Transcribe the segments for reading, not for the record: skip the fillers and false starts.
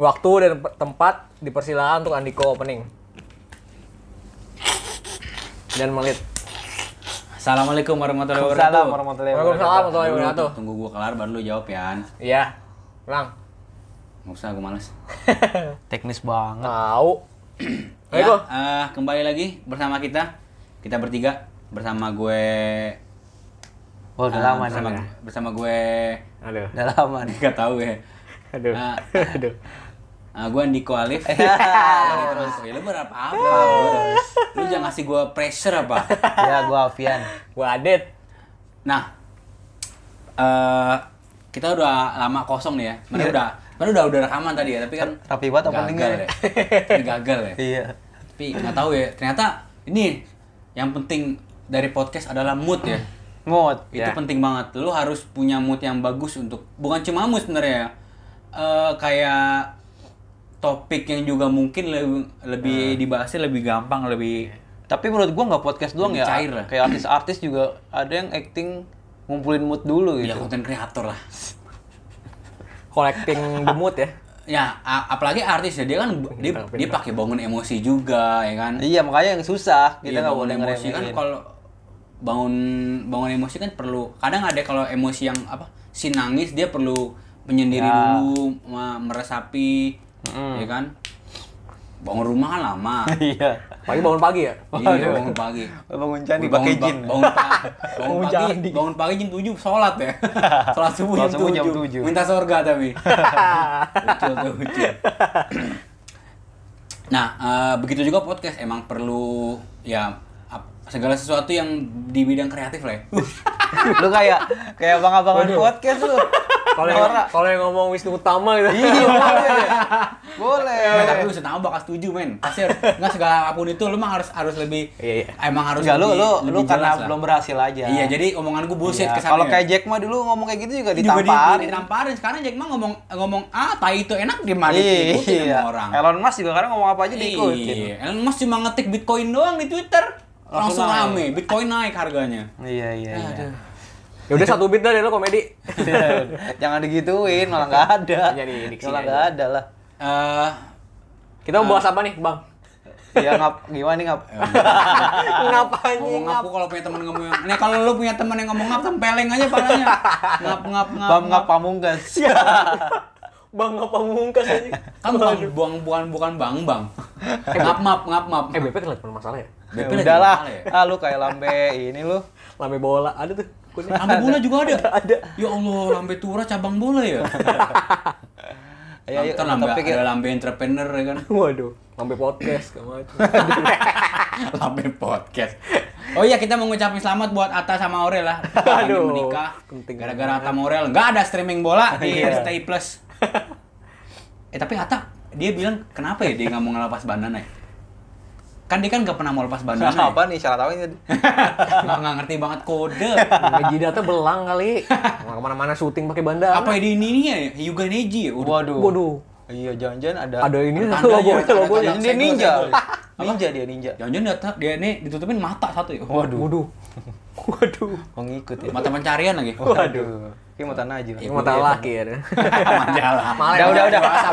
Waktu dan tempat dipersilakan untuk Andiko opening. Dan menit. Assalamualaikum warahmatullahi Waalaikumsalam wabarakatuh. warahmatullahi Waalaikumsalam wabarakatuh. warahmatullahi wabarakatuh. Tunggu gua kelar baru lu jawab ya. Iya. Ulang. Nggak usah, gua males. Teknis banget. Tahu. Ya, Ayo. kembali lagi bersama kita bertiga bersama gue. Oh, udah lama bersama, nih. bersama gue. Aduh. Udah lama nih. Nggak tahu ya. Aduh. Aduh. Gue Andiko Alif. Terus lu berapa apa? Lu jangan ngasih gue pressure apa? Ya, gua Alfian. Gua Adit. Nah, kita udah lama kosong nih ya. Mana udah rekaman tadi ya, tapi kan Rapi banget openingnya. gagal ya. Ini gagal ya. Iya. Tapi nggak tahu ya. Ternyata ini yang penting dari podcast adalah mood ya. Mood. Itu Ya. penting banget. Lu harus punya mood yang bagus untuk bukan cuma mood sebenarnya ya. Kayak topik yang juga mungkin lebih dibahasnya lebih gampang, lebih Tapi menurut gua nggak podcast doang Lebih ya. cair lah. Kayak artis-artis juga ada yang acting ngumpulin mood dulu ya gitu. konten kreator lah. Collecting the mood ya. Ya, apalagi artis ya, dia kan dia pakai bangun emosi juga ya kan. Iya, makanya yang susah. Kita Iya, nggak bangun boleh emosi kan ngeremehin. kalau bangun emosi kan perlu. Kadang ada kalau emosi yang si nangis dia perlu menyendiri Ya. dulu, meresapi, ya kan. Bangun rumah kan lama. Iya. Pagi bangun pagi ya. Iya, bangun pagi. Bangun candi Bangun pakai ba- jin. bangun pagi, bangun pagi jam 7 sholat ya. Sholat subuh Sholat subuh jam jam 7. 7. Minta surga tapi. Lucu. Nah, begitu juga podcast emang perlu ya segala sesuatu yang di bidang kreatif lah ya. Lu kayak abang-abangan podcast lu. Kalau yang ngomong Wisnu Utama gitu. Iya, boleh. Boleh. Tapi lu setengah bakal setuju men. Pasti nggak segala apapun itu lu mah harus lebih. Iya. Emang harus Enggak, lu lebih karena jelas lah. belum berhasil aja. Iya, jadi omongan gue bullshit Iya, kesannya. kalau kayak Jack Ma dulu ngomong kayak gitu juga juga ditamparin. ditamparin. Sekarang Jack Ma ngomong tai itu enak diikutin Iya. sama orang. Elon Musk juga kadang ngomong apa aja diikutin. Iya. Elon Musk cuma ngetik Bitcoin doang di Twitter. Langsung naik. rame. Bitcoin naik harganya. Iya. Ya udah 1 bit dah deh lo komedi. Jangan digituin, malah nggak ada. Jadi diksi Malah aja. nggak ada lah. Kita mau bahas apa nih, Bang? Ya gimana nih ngap? Ngapain Ngomong ngapu kalau punya teman ngomong yang. Nih kalau lu punya teman yang ngomong ngap tempeleng aja palanya. Ngap. Bang ngap pamungkas. Bang apa mungkas aja. Kan bukan bang. Ngap. BP kan lagi masalah ya. BP Ya lagi udahlah. masalah ya. Lu kayak lambe ini lu. Lambe bola ada tuh. Kuning. Lambe bola juga ada. Ada. Ya Allah, lambe tura cabang bola ya. Ayo, Ntar lambe topik ya. ada lambe entrepreneur ya kan. Waduh, lambe podcast kamu aja. Lambe podcast. Oh iya, kita mau ngucapin selamat buat Atta sama Aurel lah. Lagi Aduh, menikah. penting Gara-gara Atta sama Aurel nggak ada streaming bola di Iya. RCTI Plus. Tapi Atta dia bilang kenapa ya dia nggak mau ngelepas bandana ya? Kan dia kan nggak pernah mau lepas bandana. Ya? Apa nih syarat tahu ini? Nggak ngerti banget kode. Jidatnya belang kali. Nggak kemana-mana syuting pakai bandana. Apa di ini ya? Hyuga Neji ya? Udah. Waduh. Iya, jangan-jangan Ada ini Tandanya, logonya. Dia ninja. Apa? Ninja dia ninja. Jangan-jangan dia ini ditutupin mata satu ya? Waduh. Waduh. Mengikut ya. Mata pencarian lagi. Waduh. Kayak mata najil. Iya. Mata laki ya. Majalah. Udah.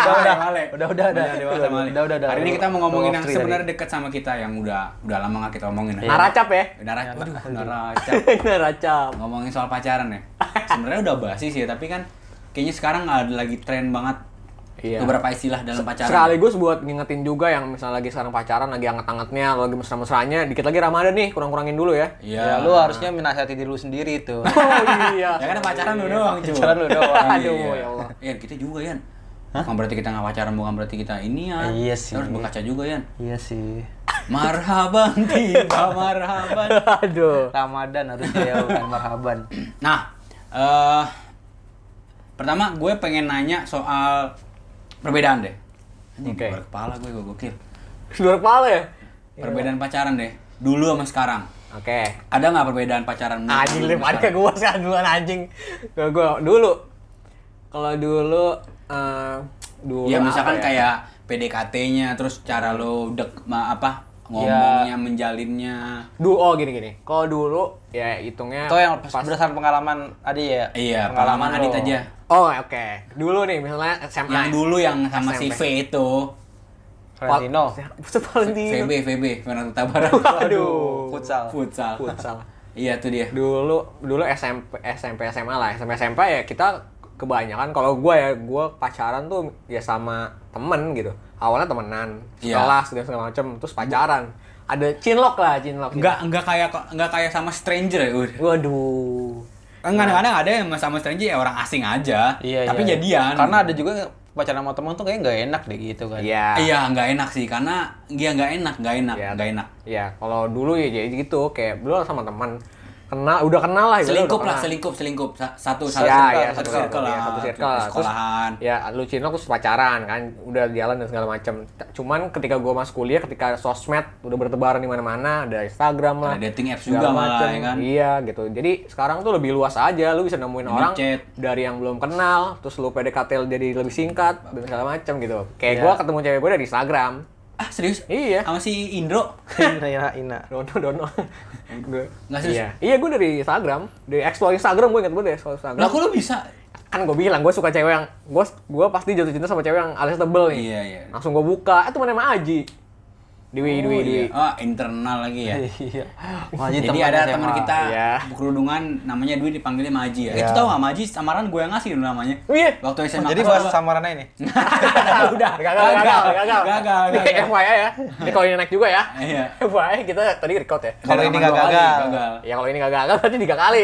Udah. Hari ini kita mau ngomongin yang Off three sebenarnya dekat sama kita yang udah lama gak kita omongin. Naracap ya. Naracap. Naracap. Ngomongin soal pacaran ya. Sebenarnya udah basi sih, tapi kan kayaknya sekarang ada lagi tren banget Iya. beberapa istilah dalam pacaran. Sekaligus buat ngingetin juga yang misalnya lagi sekarang pacaran, lagi anget-angetnya, lagi mesra-mesranya, dikit lagi Ramadan nih, kurang-kurangin dulu ya. Ya, lu harusnya menasihati diri lu sendiri tuh. Oh iya. Ya kan pacaran lu doang, cuy. Pacaran lu doang. Aduh, ya Allah. Yan, kita juga, Yan. Bukan berarti kita nggak pacaran, bukan berarti kita ini ya. Iya sih. Harus berkaca juga, Yan. Iya sih. Marhaban tiba, marhaban. Aduh. Ramadan harusnya ya, bukan marhaban. Nah, pertama gue pengen nanya soal perbedaan deh. Oke. Luar kepala gue gokil. Luar kepala ya? Perbedaan pacaran deh. Dulu sama sekarang. Oke. Ada nggak perbedaan pacaran? Anjing dulu lip sama ada ke sekarang? gua sekarang duluan anjing. Ke gua dulu. Kalau dulu dulu Ya misalkan apa ya? kayak PDKT-nya, terus cara lo ngomongnya, menjalinnya. Oh gini. Kalau dulu ya hitungnya Atau yang berdasarkan pengalaman Adi ya? Iya, pengalaman lo. Adit aja. Oh oke. Dulu nih misalnya SMA. Yang dulu yang sama si SMP. V itu. Valentino. Buset Valentino. VB, Fernando Tabaran. Aduh. Futsal. Futsal. Iya tuh dia. Dulu SMP SMA lah. SMP ya kita kebanyakan kalau gue pacaran tuh ya sama temen gitu. Awalnya temenan, Iya. sekelas dan segala macem, terus pacaran. Ada cinlok. Enggak kayak sama stranger ya. Waduh. Kan kadang-kadang ada yang sama stranger ya orang asing aja. Iya, tapi iya. jadian. Karena ada juga pacaran sama teman tuh kayaknya nggak enak deh gitu kan. Iya. Iya, nggak enak sih karena dia nggak enak. Iya, kalau dulu ya jadi gitu kayak dulu sama teman udah kenal lah gitu. Selingkup. Satu Ya, circle lah. satu circle. Sekolahan. Ya, lu cinlok terus pacaran kan, udah jalan dan segala macam. Cuman ketika gua masuk kuliah, ketika sosmed udah bertebaran di mana-mana, ada Instagram lah. Ada dating apps segala juga malah macem. ya kan. Iya, gitu. Jadi sekarang tuh lebih luas aja, lu bisa nemuin orang chat. dari yang belum kenal, terus lu PDKT jadi lebih singkat dan segala macam gitu. Kayak Iya. gua ketemu cewek gua dari Instagram. Ah, serius? Iya. Sama si Indro? Ina. Dono. Nggak serius? Iya, gue dari Instagram, dari explore Instagram, gue inget banget deh explore Instagram. Lah kok lu bisa? Kan gue bilang, gue suka cewek yang, gue pasti jatuh cinta sama cewek yang alisnya tebel nih. Iya. Langsung gue buka, temen sama Aji. Dwi. Oh, internal lagi ya. Iya. Jadi ada teman kita Iya. kerudungan namanya Dwi dipanggilnya Maji ya. Iya. Itu tahu nggak Maji samaran gue yang ngasih dulu namanya. Iya. Waktu SMA. Jadi bahas samaran ini. Udah. Gagal. Ini FYI ya. Ini kalau ini naik juga ya. Iya. FYI kita tadi record ya. Kalau ini Rekaman nggak dua kali, gagal. Ya kalau ini nggak gagal berarti 3 kali.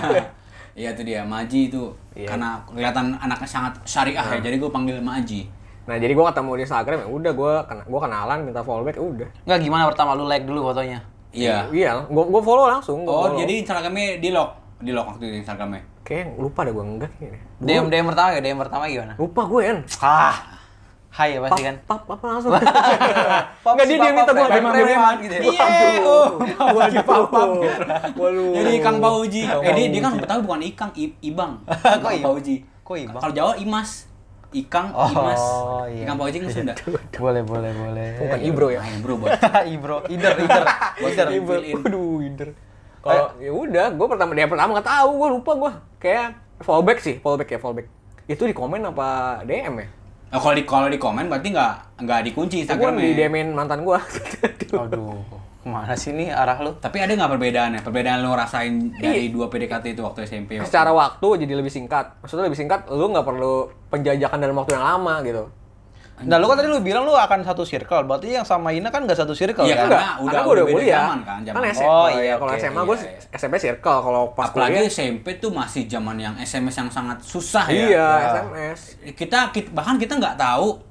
Iya tuh dia, Maji itu. Iya. Karena kelihatan anaknya sangat syariah ya, jadi gue panggil Maji. Nah jadi gue ketemu di Instagram ya udah gue kenalan minta follow back udah. Nggak gimana pertama lu like dulu fotonya? Iya. Iya, gue follow langsung. Oh, jadi Instagramnya di lock waktu itu Instagramnya. Kayak lupa deh gue enggak ini. DM pertama ya? DM pertama gimana? Lupa gue kan. Hai ya pasti kan? Pap langsung. Enggak dia minta gue preman gitu ya. Gue di papam. Waduh. Jadi Kang Pauji. Dia kan Betawi bukan Ikang, Ibang. Kok Kang Pauji. Kok Ibang? Kalau Jawa Imas. Ikang, Oh, Imas. iya. Ikang Pauji kan Sunda. Boleh. Bukan Ibro ya. Nah, bro, buat Ibro, Ider. Ibro. Waduh, Inder. Kalau ya udah, gue pertama nggak tahu, gue lupa gue. Kayak fallback. Itu di komen apa DM ya? Nah, kalau di komen berarti nggak dikunci Gue Instagramnya. di DM-in mantan gue. Aduh, kemana sih nih arah lu? Tapi ada nggak perbedaannya? Perbedaan lo rasain dari dua PDKT itu waktu SMP? Secara waktu jadi lebih singkat. Maksudnya lebih singkat, lu nggak perlu penjajakan dalam waktu yang lama gitu. Nah, lu kan tadi lu bilang lu akan satu circle, berarti yang sama Ina kan nggak satu circle Iya, kan? karena Karena udah gue beda kuliah. zaman kan, zaman. Oh iya, iya, kalau oke, SMA gue iya. SMP circle, kalau pas Apalagi kuliah. SMP tuh masih zaman yang SMS yang sangat susah ya. Iya, SMS. Kita bahkan kita nggak tahu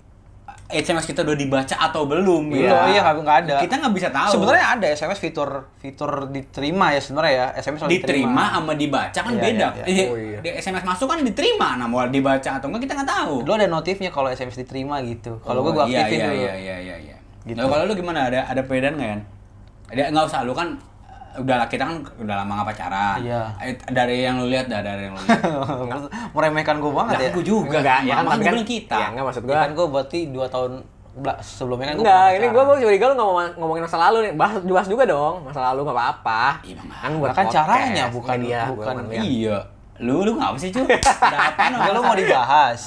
SMS kita udah dibaca atau belum. Iya, gitu. iya nggak ada. Kita nggak bisa tahu. Sebenarnya ada SMS fitur diterima ya sebenarnya ya. SMS selalu diterima sama dibaca kan Iya, beda. iya, iya. Oh, iya. Di SMS masuk kan diterima, nah mau dibaca atau enggak kita nggak tahu. Dulu ada notifnya kalau SMS diterima gitu. Kalau gua iya, aktifin iya, dulu. Iya. Gitu. Nah, kalau lu gimana? Ada perbedaan nggak kan? Ada nggak usah, lu kan kita kan udah lama nggak pacaran. Iya. Dari yang lu lihat dari yang lu lihat. Meremehkan gua banget ya. Aku juga. Enggak, ya kan Makanya tapi gua kan bilang kita. Ya enggak maksud Ya gue. kan gua berarti 2 tahun sebelumnya kan gua Enggak, pernah ini gue pacaran. mau curiga lu ngomongin masa lalu nih. Bahas juga dong, masa lalu nggak apa-apa. Iya, Bang. Kan buat Kan podcast, caranya, bukan- media, bukan- lihat. Iya. Lu ngapa sih, Cu? Ada apa Enggak, lu mau dibahas.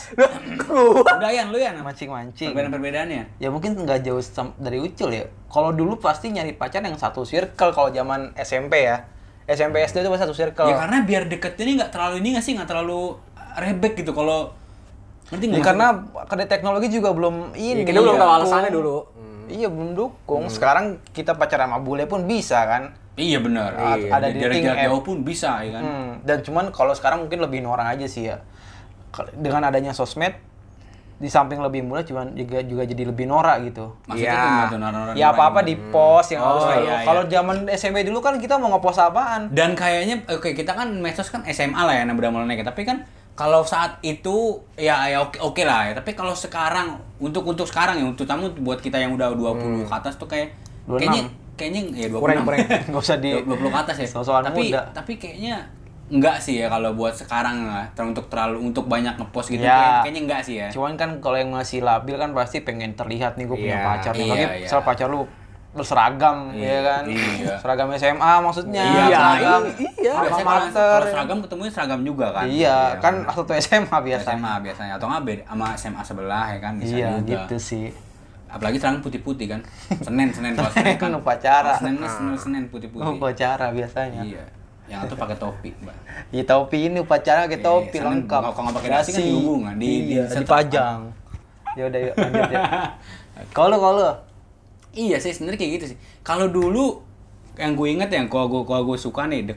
Udah Yan, lu Yan. Mancing-mancing. Perbedaan-perbedaannya. Ya mungkin nggak jauh dari Ucul ya. Kalau dulu pasti nyari pacar yang satu circle kalau zaman SMP ya. SMP SD itu pasti satu circle. Ya karena biar deket ini nggak terlalu nggak terlalu rebek gitu kalau ngerti Ya, nggak? karena teknologi juga belum ini. Ya, kita belum tahu dukung. alasannya dulu. Iya, belum dukung. Sekarang kita pacaran sama bule pun bisa kan. Iya benar. Iya. Ada Dari dating jarak app. jauh pun bisa ya kan. Dan cuman kalau sekarang mungkin lebih norak aja sih ya. Dengan adanya sosmed di samping lebih mudah cuman juga jadi lebih norak gitu. Maksudnya Iya. tuh gimana tuh norak-norak Ya apa-apa di post yang harus Oh, lalu. iya, iya. Kalau zaman SMP dulu kan kita mau ngepost apaan? Dan kayaknya oke kita kan medsos kan SMA lah ya yang udah mulai naik. Tapi kan kalau saat itu ya oke lah ya. Tapi kalau sekarang untuk sekarang ya untuk tamu buat kita yang udah 20 ke atas tuh 26. kayaknya ya 26. Kurang. Nggak usah di 20 ke atas ya. soal-soal muda. Tapi kayaknya enggak sih ya kalau buat sekarang lah. Untuk banyak ngepost gitu Ya. kayaknya enggak sih ya. Cuman kan kalau yang masih labil kan pasti pengen terlihat nih gue punya Iya, pacar nih. iya, Tapi iya. misal pacar lu berseragam ya kan. Iya. Seragam SMA maksudnya. Iya, seragam. iya. Alma Biasanya mater. kalau seragam ketemunya seragam juga kan. Iya, kan satu SMA biasa. SMA biasanya atau nggak beda sama SMA sebelah ya kan bisa Iya, juga. gitu sih. Apalagi seragam putih-putih kan. Senin kalau Senin kan Upacara. Senin putih-putih. Upacara biasanya. Iya. Yang itu pakai topi, Mbak. Di topi ini upacara pakai topi Senin, lengkap. kalau nggak pakai dasi kan Dasi. dihubung kan, Iya, setrap. dipajang. Ya udah yuk lanjut ya. Kalau Iya sih sebenarnya kayak gitu sih. Kalau dulu yang gue inget yang kalau gue suka nih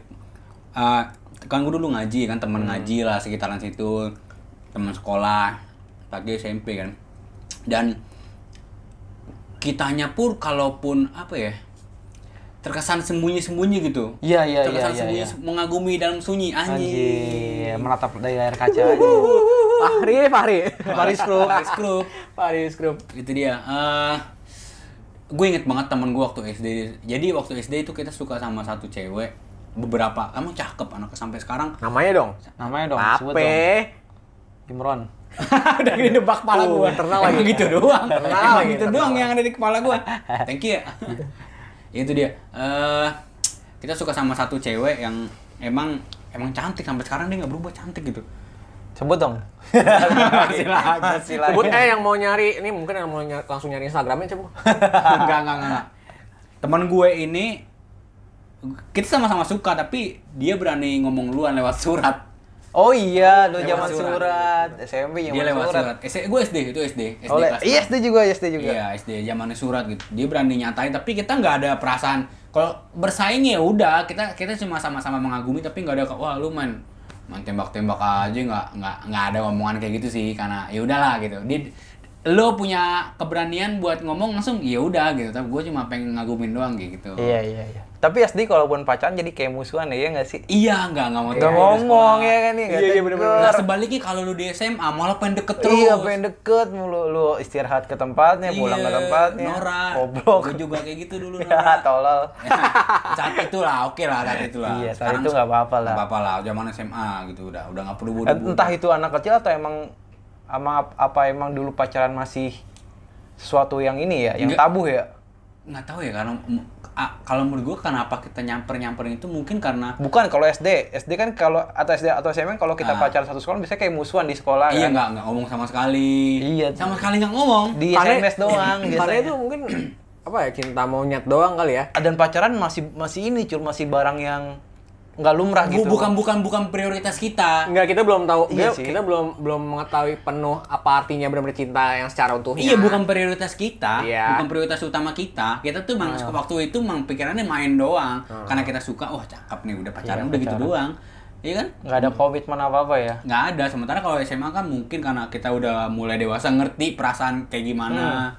kan gue dulu ngaji kan, temen ngaji lah sekitaran situ, teman sekolah pagi SMP kan. Dan kitanya pun kalaupun apa ya, terkesan sembunyi-sembunyi gitu. Iya. Terkesan sembunyi, mengagumi dalam sunyi anjing. Anjir, menatap dari layar kaca aja. Fahri. Paris Group. Paris Group. Itu dia. Gue inget banget temen gue waktu SD. Jadi waktu SD itu kita suka sama satu cewek. Beberapa, emang cakep anaknya sampai sekarang. Namanya dong. Namanya dong, sebut Ape. dong. Imron. Udah gini nebak kepala gue. internal lagi. Emang gitu doang. Internal Emang lagi, gitu internal. doang yang ada di kepala gue. Thank you ya. Itu dia. Kita suka sama satu cewek yang emang cantik sampai sekarang dia nggak berubah cantik gitu. Sebut dong. Silakan. Sebut yang mau nyari, ini mungkin yang mau langsung nyari Instagramnya coba. Enggak. Teman gue ini kita sama-sama suka tapi dia berani ngomong duluan lewat surat. Oh iya, lu Lewat zaman surat. SMP Dia zaman lewat surat. surat. Gue SD itu SD. SD Oleh, kelas iya enam. SD juga. Iya, SD zamannya surat gitu. Dia berani nyatain tapi kita nggak ada perasaan kalau bersaing ya udah, kita cuma sama-sama mengagumi tapi nggak ada wah lu main tembak-tembak aja nggak ada omongan kayak gitu sih karena ya udahlah gitu. Lo punya keberanian buat ngomong langsung ya udah gitu. Tapi gue cuma pengen ngagumin doang gitu. Iya. Tapi SD kalaupun pacaran jadi kayak musuhan ya nggak sih? Iya, nggak mau Nggak ngomong ya kan nih. Iya, bener-bener. Nah, sebaliknya kalau lu di SMA malah pengen deket terus. Iya, pengen deket mulu. Lu istirahat ke tempatnya, pulang ke tempatnya. Norak. Goblok. Gue juga kayak gitu dulu. Ya, Norak. tolol. Saat itu lah, oke lah saat itu lah. Iya, saat itu nggak apa-apa lah. Nggak apa-apa lah, zaman SMA gitu udah nggak perlu bodoh. Entah itu anak kecil atau emang emang dulu pacaran masih sesuatu yang ini ya, yang Nggak. tabu ya? Nggak tahu ya karena kalau menurut gue kenapa kita nyamperin itu mungkin karena Bukan kalau SD kan kalau atau SD atau SMA kalau kita pacaran satu sekolah biasanya kayak musuhan di sekolah iya kan. nggak ngomong sama sekali. Iya. Sama sekali nggak ngomong. Di SMS doang Karena biasanya. itu mungkin apa ya, cinta monyet doang kali ya. Dan pacaran masih ini masih barang yang nggak lumrah gitu. Bukan prioritas kita. Enggak, kita belum tahu. Iya sih. Kita belum mengetahui penuh apa artinya benar-benar cinta yang secara utuhnya. Iya, bukan prioritas kita, Iya. bukan prioritas utama kita. Kita tuh waktu itu pikirannya main doang. Karena kita suka, wah cakep nih, udah pacaran, Iya, udah gitu pacaran. doang. Iya kan? Nggak ada komitmen apa-apa ya. Nggak ada. Sementara kalau SMA kan mungkin karena kita udah mulai dewasa, ngerti perasaan kayak gimana.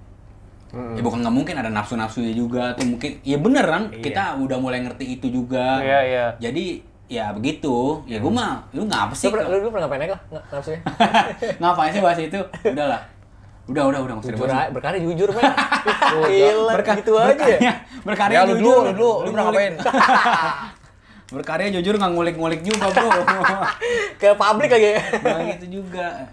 Ya bukan nggak mungkin ada nafsu-nafsunya juga. Tuh mungkin, ya bener kan? Kita udah mulai ngerti itu juga. Iya. Jadi, ya begitu. Ya gue mah, lu ngapa sih? Lu pernah ngapain aja nggak nafsunya? Ngapain sih bahas itu? Udahlah. Udah, nggak usah Jujur dibahas. aja, berkarya jujur men. Gila, gitu aja ya. Berkarya Ya lu jujur. dulu ngapain? Berkarya jujur nggak ngulik-ngulik juga bro. Ke publik lagi. Nah gitu juga.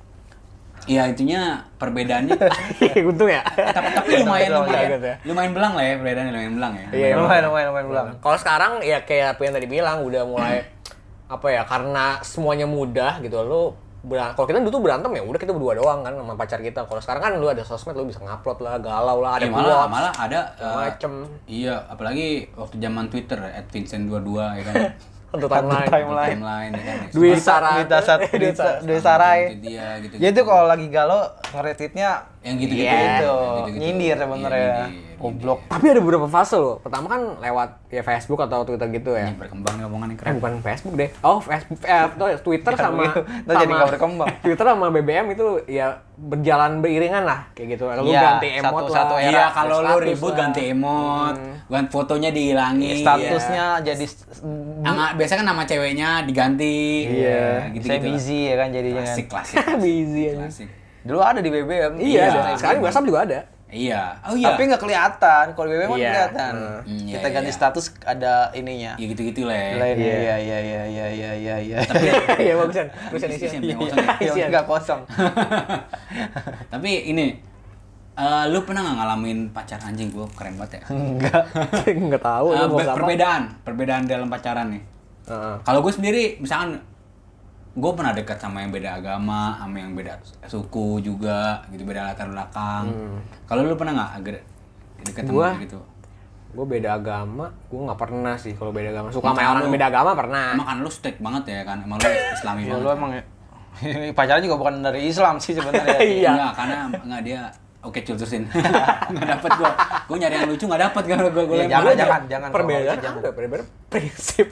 Ya intinya perbedaannya. Untung ya. tapi lumayan Gitu ya. lumayan belang lah ya perbedaannya lumayan belang ya. Iya, Lumayan ulang. Kalau sekarang ya kayak apa yang tadi bilang udah mulai apa ya, karena semuanya mudah gitu. Kalau kita dulu tuh berantem ya udah kita berdua doang kan sama pacar kita. Kalau sekarang kan lu ada sosmed, lu bisa ngupload lah, galau lah, ada Ya, quotes, malah ada macem iya apalagi waktu zaman Twitter @vincent22 ya kan. untuk Timeline. Timeline ya kan. Duit Sarai. Duit Sarai. Itu dia gitu. Ya itu kalau lagi galau nge-retweetnya yang gitu-gitu. Iya. gitu. Gitu-gitu. Nyindir sebenarnya. Iya, Goblok. Tapi ada beberapa fase loh. Pertama kan lewat ya Facebook atau Twitter gitu ya. Ini berkembang nih omongan yang keren. Bukan Facebook deh. Oh, Facebook, Twitter sama Ntar jadi nggak berkembang. Twitter sama BBM itu ya berjalan beriringan lah kayak gitu. Lu Iya, ganti emot satu lah. era. Iya, kalau lu status ribut lah. ganti emot, ganti fotonya dihilangin. Statusnya jadi Biasanya kan nama ceweknya diganti. Iya. gitu-gitu. saya busy ya kan jadinya. Klasik. Busy aja. Klasik. Dulu ada di BBM. Iya, Iya. sekarang di WhatsApp juga ada. Iya. Oh iya. Tapi nggak kelihatan. Kalau di BBM kan Iya. kelihatan. Iya, Kita ganti iya. status ada ininya. Ya gitu-gitu lah ya. Lain. Iya. Iya. Iya, bagusan. Tulisan isian. Isian, yang kosong ya. Yang nggak kosong. Tapi ini Lu pernah nggak ngalamin pacar anjing? Gua keren banget ya. Nggak tahu. lu mau apa? Perbedaan dalam pacaran nih. Kalau gue sendiri, misalkan gue pernah dekat sama yang beda agama, sama yang beda suku juga, gitu, beda latar belakang. Kalau lu pernah nggak agak dekat sama gitu? Gue beda agama, gue nggak pernah sih kalau beda agama. Suka sama orang beda agama pernah. Emang kan lu strict banget ya kan? Emang lu Islami Ya banget. lu emang pacaran juga bukan dari Islam sih sebenarnya. Iya. Enggak, karena enggak dia oke cultusin. Enggak dapet gua. Gua nyari yang lucu enggak dapet kalau gua Ya, lempar. jangan. Perbedaan perbedaan prinsip.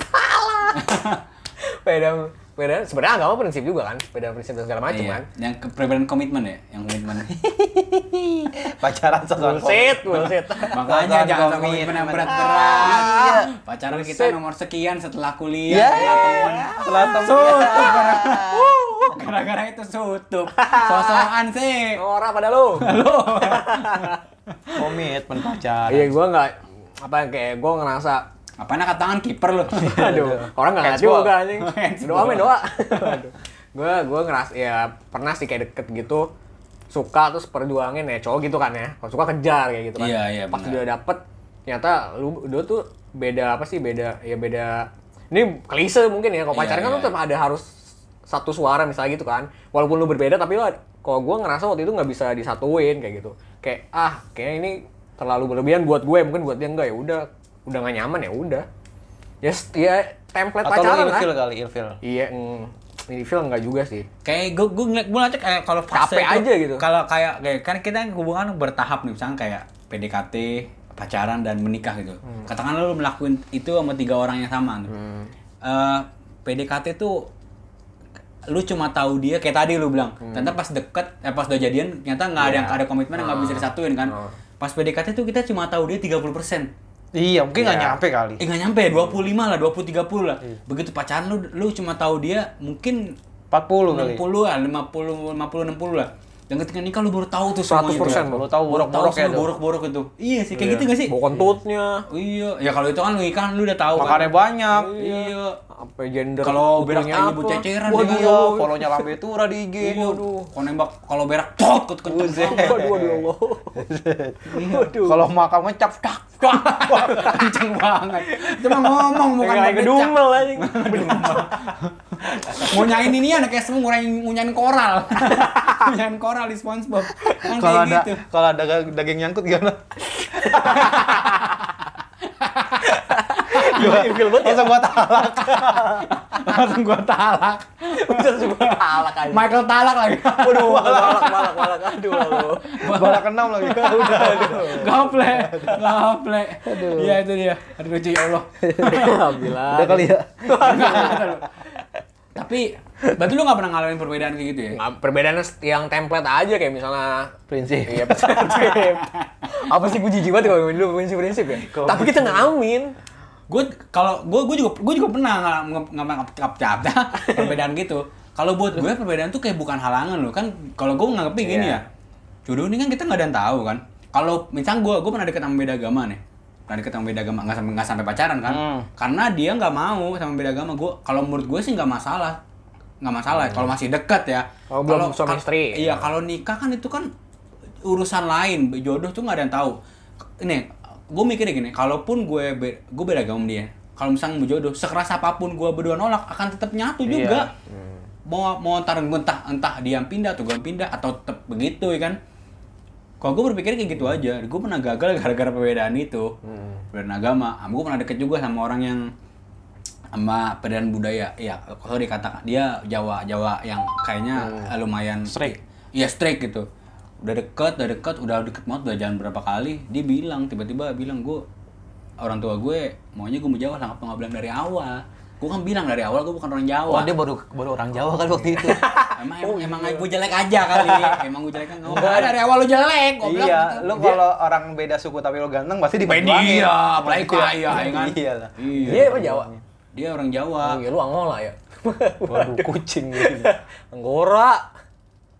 Perbedaan sebenarnya agama prinsip juga kan, perbedaan prinsip dan segala macam Iya. kan. Yang perbedaan komitmen ya, yang komitmen. Pacaran soal Bullshit. Makanya jangan sama komitmen yang berat-berat. Iya. Pacaran kita nomor sekian setelah kuliah, Iya. setelah teman. Setelah temen. Gara-gara itu sutup. Sosokan sih. Ora pada lu. Komitmen pacaran. Iya, gue nggak kayak gue ngerasa Apaan angkat tangan kiper lu? aduh, orang nggak ngeliat Handsball. juga anjing. Handsball. Doa men doa. Aduh. Gue ngerasa ya pernah sih kayak deket gitu, suka terus perjuangin ya cowok gitu kan ya. Kalau suka kejar kayak gitu kan. Iya, Pas benar. udah dapet ternyata lu tuh beda apa sih, beda ini klise mungkin ya. Kalau Iya, pacaran kan iya. lu tetap ada harus satu suara misalnya gitu kan. Walaupun lu berbeda tapi lu kalau gue ngerasa waktu itu nggak bisa disatuin kayak gitu. Kayak kayaknya ini terlalu berlebihan buat gue, mungkin buat dia enggak, ya udah nggak nyaman ya udah. Ya template Atau pacaran lu lah. ilfil kali, ilfil. Iya, ini film enggak juga sih. Kayak gue ngeliat kayak kalau fase Capek itu, aja gitu. Kalau kayak kan kita hubungan bertahap nih, misalnya kayak PDKT, pacaran dan menikah gitu. Katakanlah lu melakukan itu sama 3 orang yang sama. PDKT tuh lu cuma tahu dia kayak tadi lu bilang. Ternyata pas deket, pas udah jadian ternyata nggak ada komitmen, nggak bisa disatuin kan. Pas PDKT tuh kita cuma tahu dia 30%. Iya, mungkin nggak Iya. nyampe kali. Nggak nyampe, 25 lah, 20-30 lah. Begitu pacaran lu cuma tahu dia mungkin 40 kali. 60 lah, 50, 60 lah. Dan ketika nikah lu baru tahu tuh semuanya. 100% tuh. Baru tahu borok-borok ya, semua borok-borok itu. Iya sih, kayak gitu gak sih? Bawa kentutnya, Iya, ya kalau itu kan lu nikah lu udah tahu Makannya kan. banyak. Iya. apa gender. Kalau berak butuhnya tanya apa. bu ceceran Waduh, dia. Iya, follow-nya Lambe Tura di IG. Iya. Kalau nembak kalau berak tot kenceng banget. Waduh, ya Allah. Waduh. Kalau makan ngecap tak. Kenceng banget. Cuma ngomong bukan Kayak berbicara. ngedumel anjing. Ngunyain ini anak kayak semua ngunyain koral. Ngunyain koral di SpongeBob. Kan Kalau kayak ada gitu. kalau ada daging nyangkut gimana? Ilfil banget ya. Langsung gua talak. Langsung gua talak. Bisa semua talak aja. Michael talak lagi. Waduh, balak. Aduh, lalu. Balak keenam lagi. Udah. Gaple. Iya itu dia. Aduh lucu ya Allah. Alhamdulillah. Udah kali ya. Tapi berarti lu gak pernah ngalamin perbedaan kayak gitu ya? Nggak, perbedaan yang template aja kayak misalnya Prinsip. iya prinsip. Apa sih gue jijik banget kalau ngomongin dulu prinsip ya. Tapi kita ngalamin. Gue juga pernah ngap perbedaan gitu. Kalau buat gue perbedaan tuh kayak bukan halangan loh kan. Kalau gue nganggepnya gini ya. Jodoh ini kan kita nggak ada yang tahu kan. Kalau misalnya gue pernah deket sama beda agama nih. Pernah deket sama beda agama nggak sampai pacaran kan. Karena dia nggak mau sama beda agama. Kalau menurut gue sih nggak masalah. Kalau masih dekat ya. Kalau belum suami istri. Iya, kalau nikah kan itu kan urusan lain. Jodoh tuh nggak ada yang tahu. Ini, gue mikirnya gini, kalaupun gue beda agama sama dia, kalau misalnya mau jodoh, sekeras apapun gue berdua nolak, akan tetap nyatu juga. Mau entah dia yang pindah atau gue yang pindah atau tetap begitu ya kan. Kalau gue berpikir kayak gitu aja, gue pernah gagal gara-gara perbedaan itu. Perbedaan agama. Gue pernah deket juga sama orang yang sama perbedaan budaya. Ya, kalau dikatakan dia Jawa yang kayaknya lumayan Strict. Iya, strict gitu. Udah deket banget, udah jalan berapa kali. Dia tiba-tiba bilang, orang tua gue maunya gue mau Jawa, kenapa nggak bilang dari awal? Gue kan bilang dari awal gue bukan orang Jawa. Oh, dia baru orang Jawa kan waktu itu. Emang gue jelek aja kali. Emang gue jelek kan. Enggak, dari awal lu jelek. Gua bilang Iya, gitu. lu kalau orang beda suku tapi lu ganteng pasti diperjuangin. Iya, apalagi kaya ya kan. Iya lah. Dia apa Jawa? Dia orang Jawa. Oh, ya lu Angola ya. Waduh, kucing gitu. Anggora.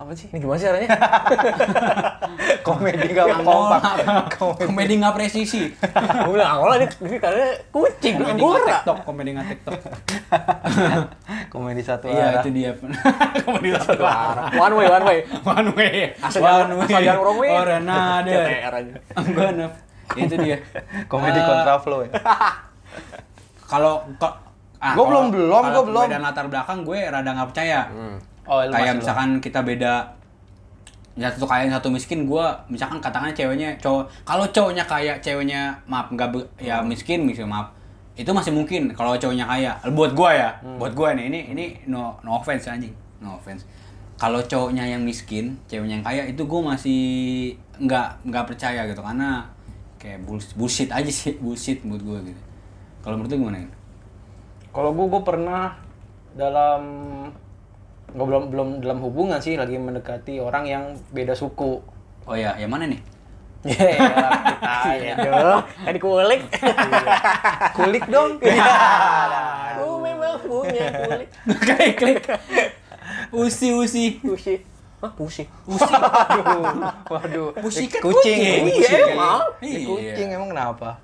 Apa sih? Ini gimana sih caranya? Komedi nggak Angola. kompak. Komedi nggak presisi. Gue bilang Angola ini karena kucing, Komedi nggak Anggora. TikTok, komedi nggak TikTok. Komedi satu Iya, arah. itu dia. Komedi satu arah. One way. One way. Asal jangan wrong way. Orang ada. CTR aja. Enggak, itu dia. Komedi kontraflow ya. Kalau Gua belum. Beda latar belakang gue rada nggak percaya. Oh, lu Kayak masih misalkan kita beda ya satu kaya satu miskin, gue misalkan katakannya ceweknya cowok, kalau cowoknya kaya ceweknya maaf ya miskin maaf, itu masih mungkin kalau cowoknya kaya buat gue ya. Buat gue nih ini no offense anjing, no offense. Kalau cowoknya yang miskin ceweknya yang kaya itu gue masih nggak percaya gitu, karena kayak bullshit aja sih, bullshit buat gue gitu. Kalau menurut lu gimana ya? Kalau gue pernah dalam belum dalam hubungan sih, lagi mendekati orang yang beda suku. Oh ya, yang mana nih? Ya, kita Aduh, kan dikulik. kulik dong. Aku memang punya kulik. Kayak klik. Usi. Pusi. Hah, pusi? Waduh. Pussycat Kucing. kucing. Iya, emang. Ini kucing emang kenapa?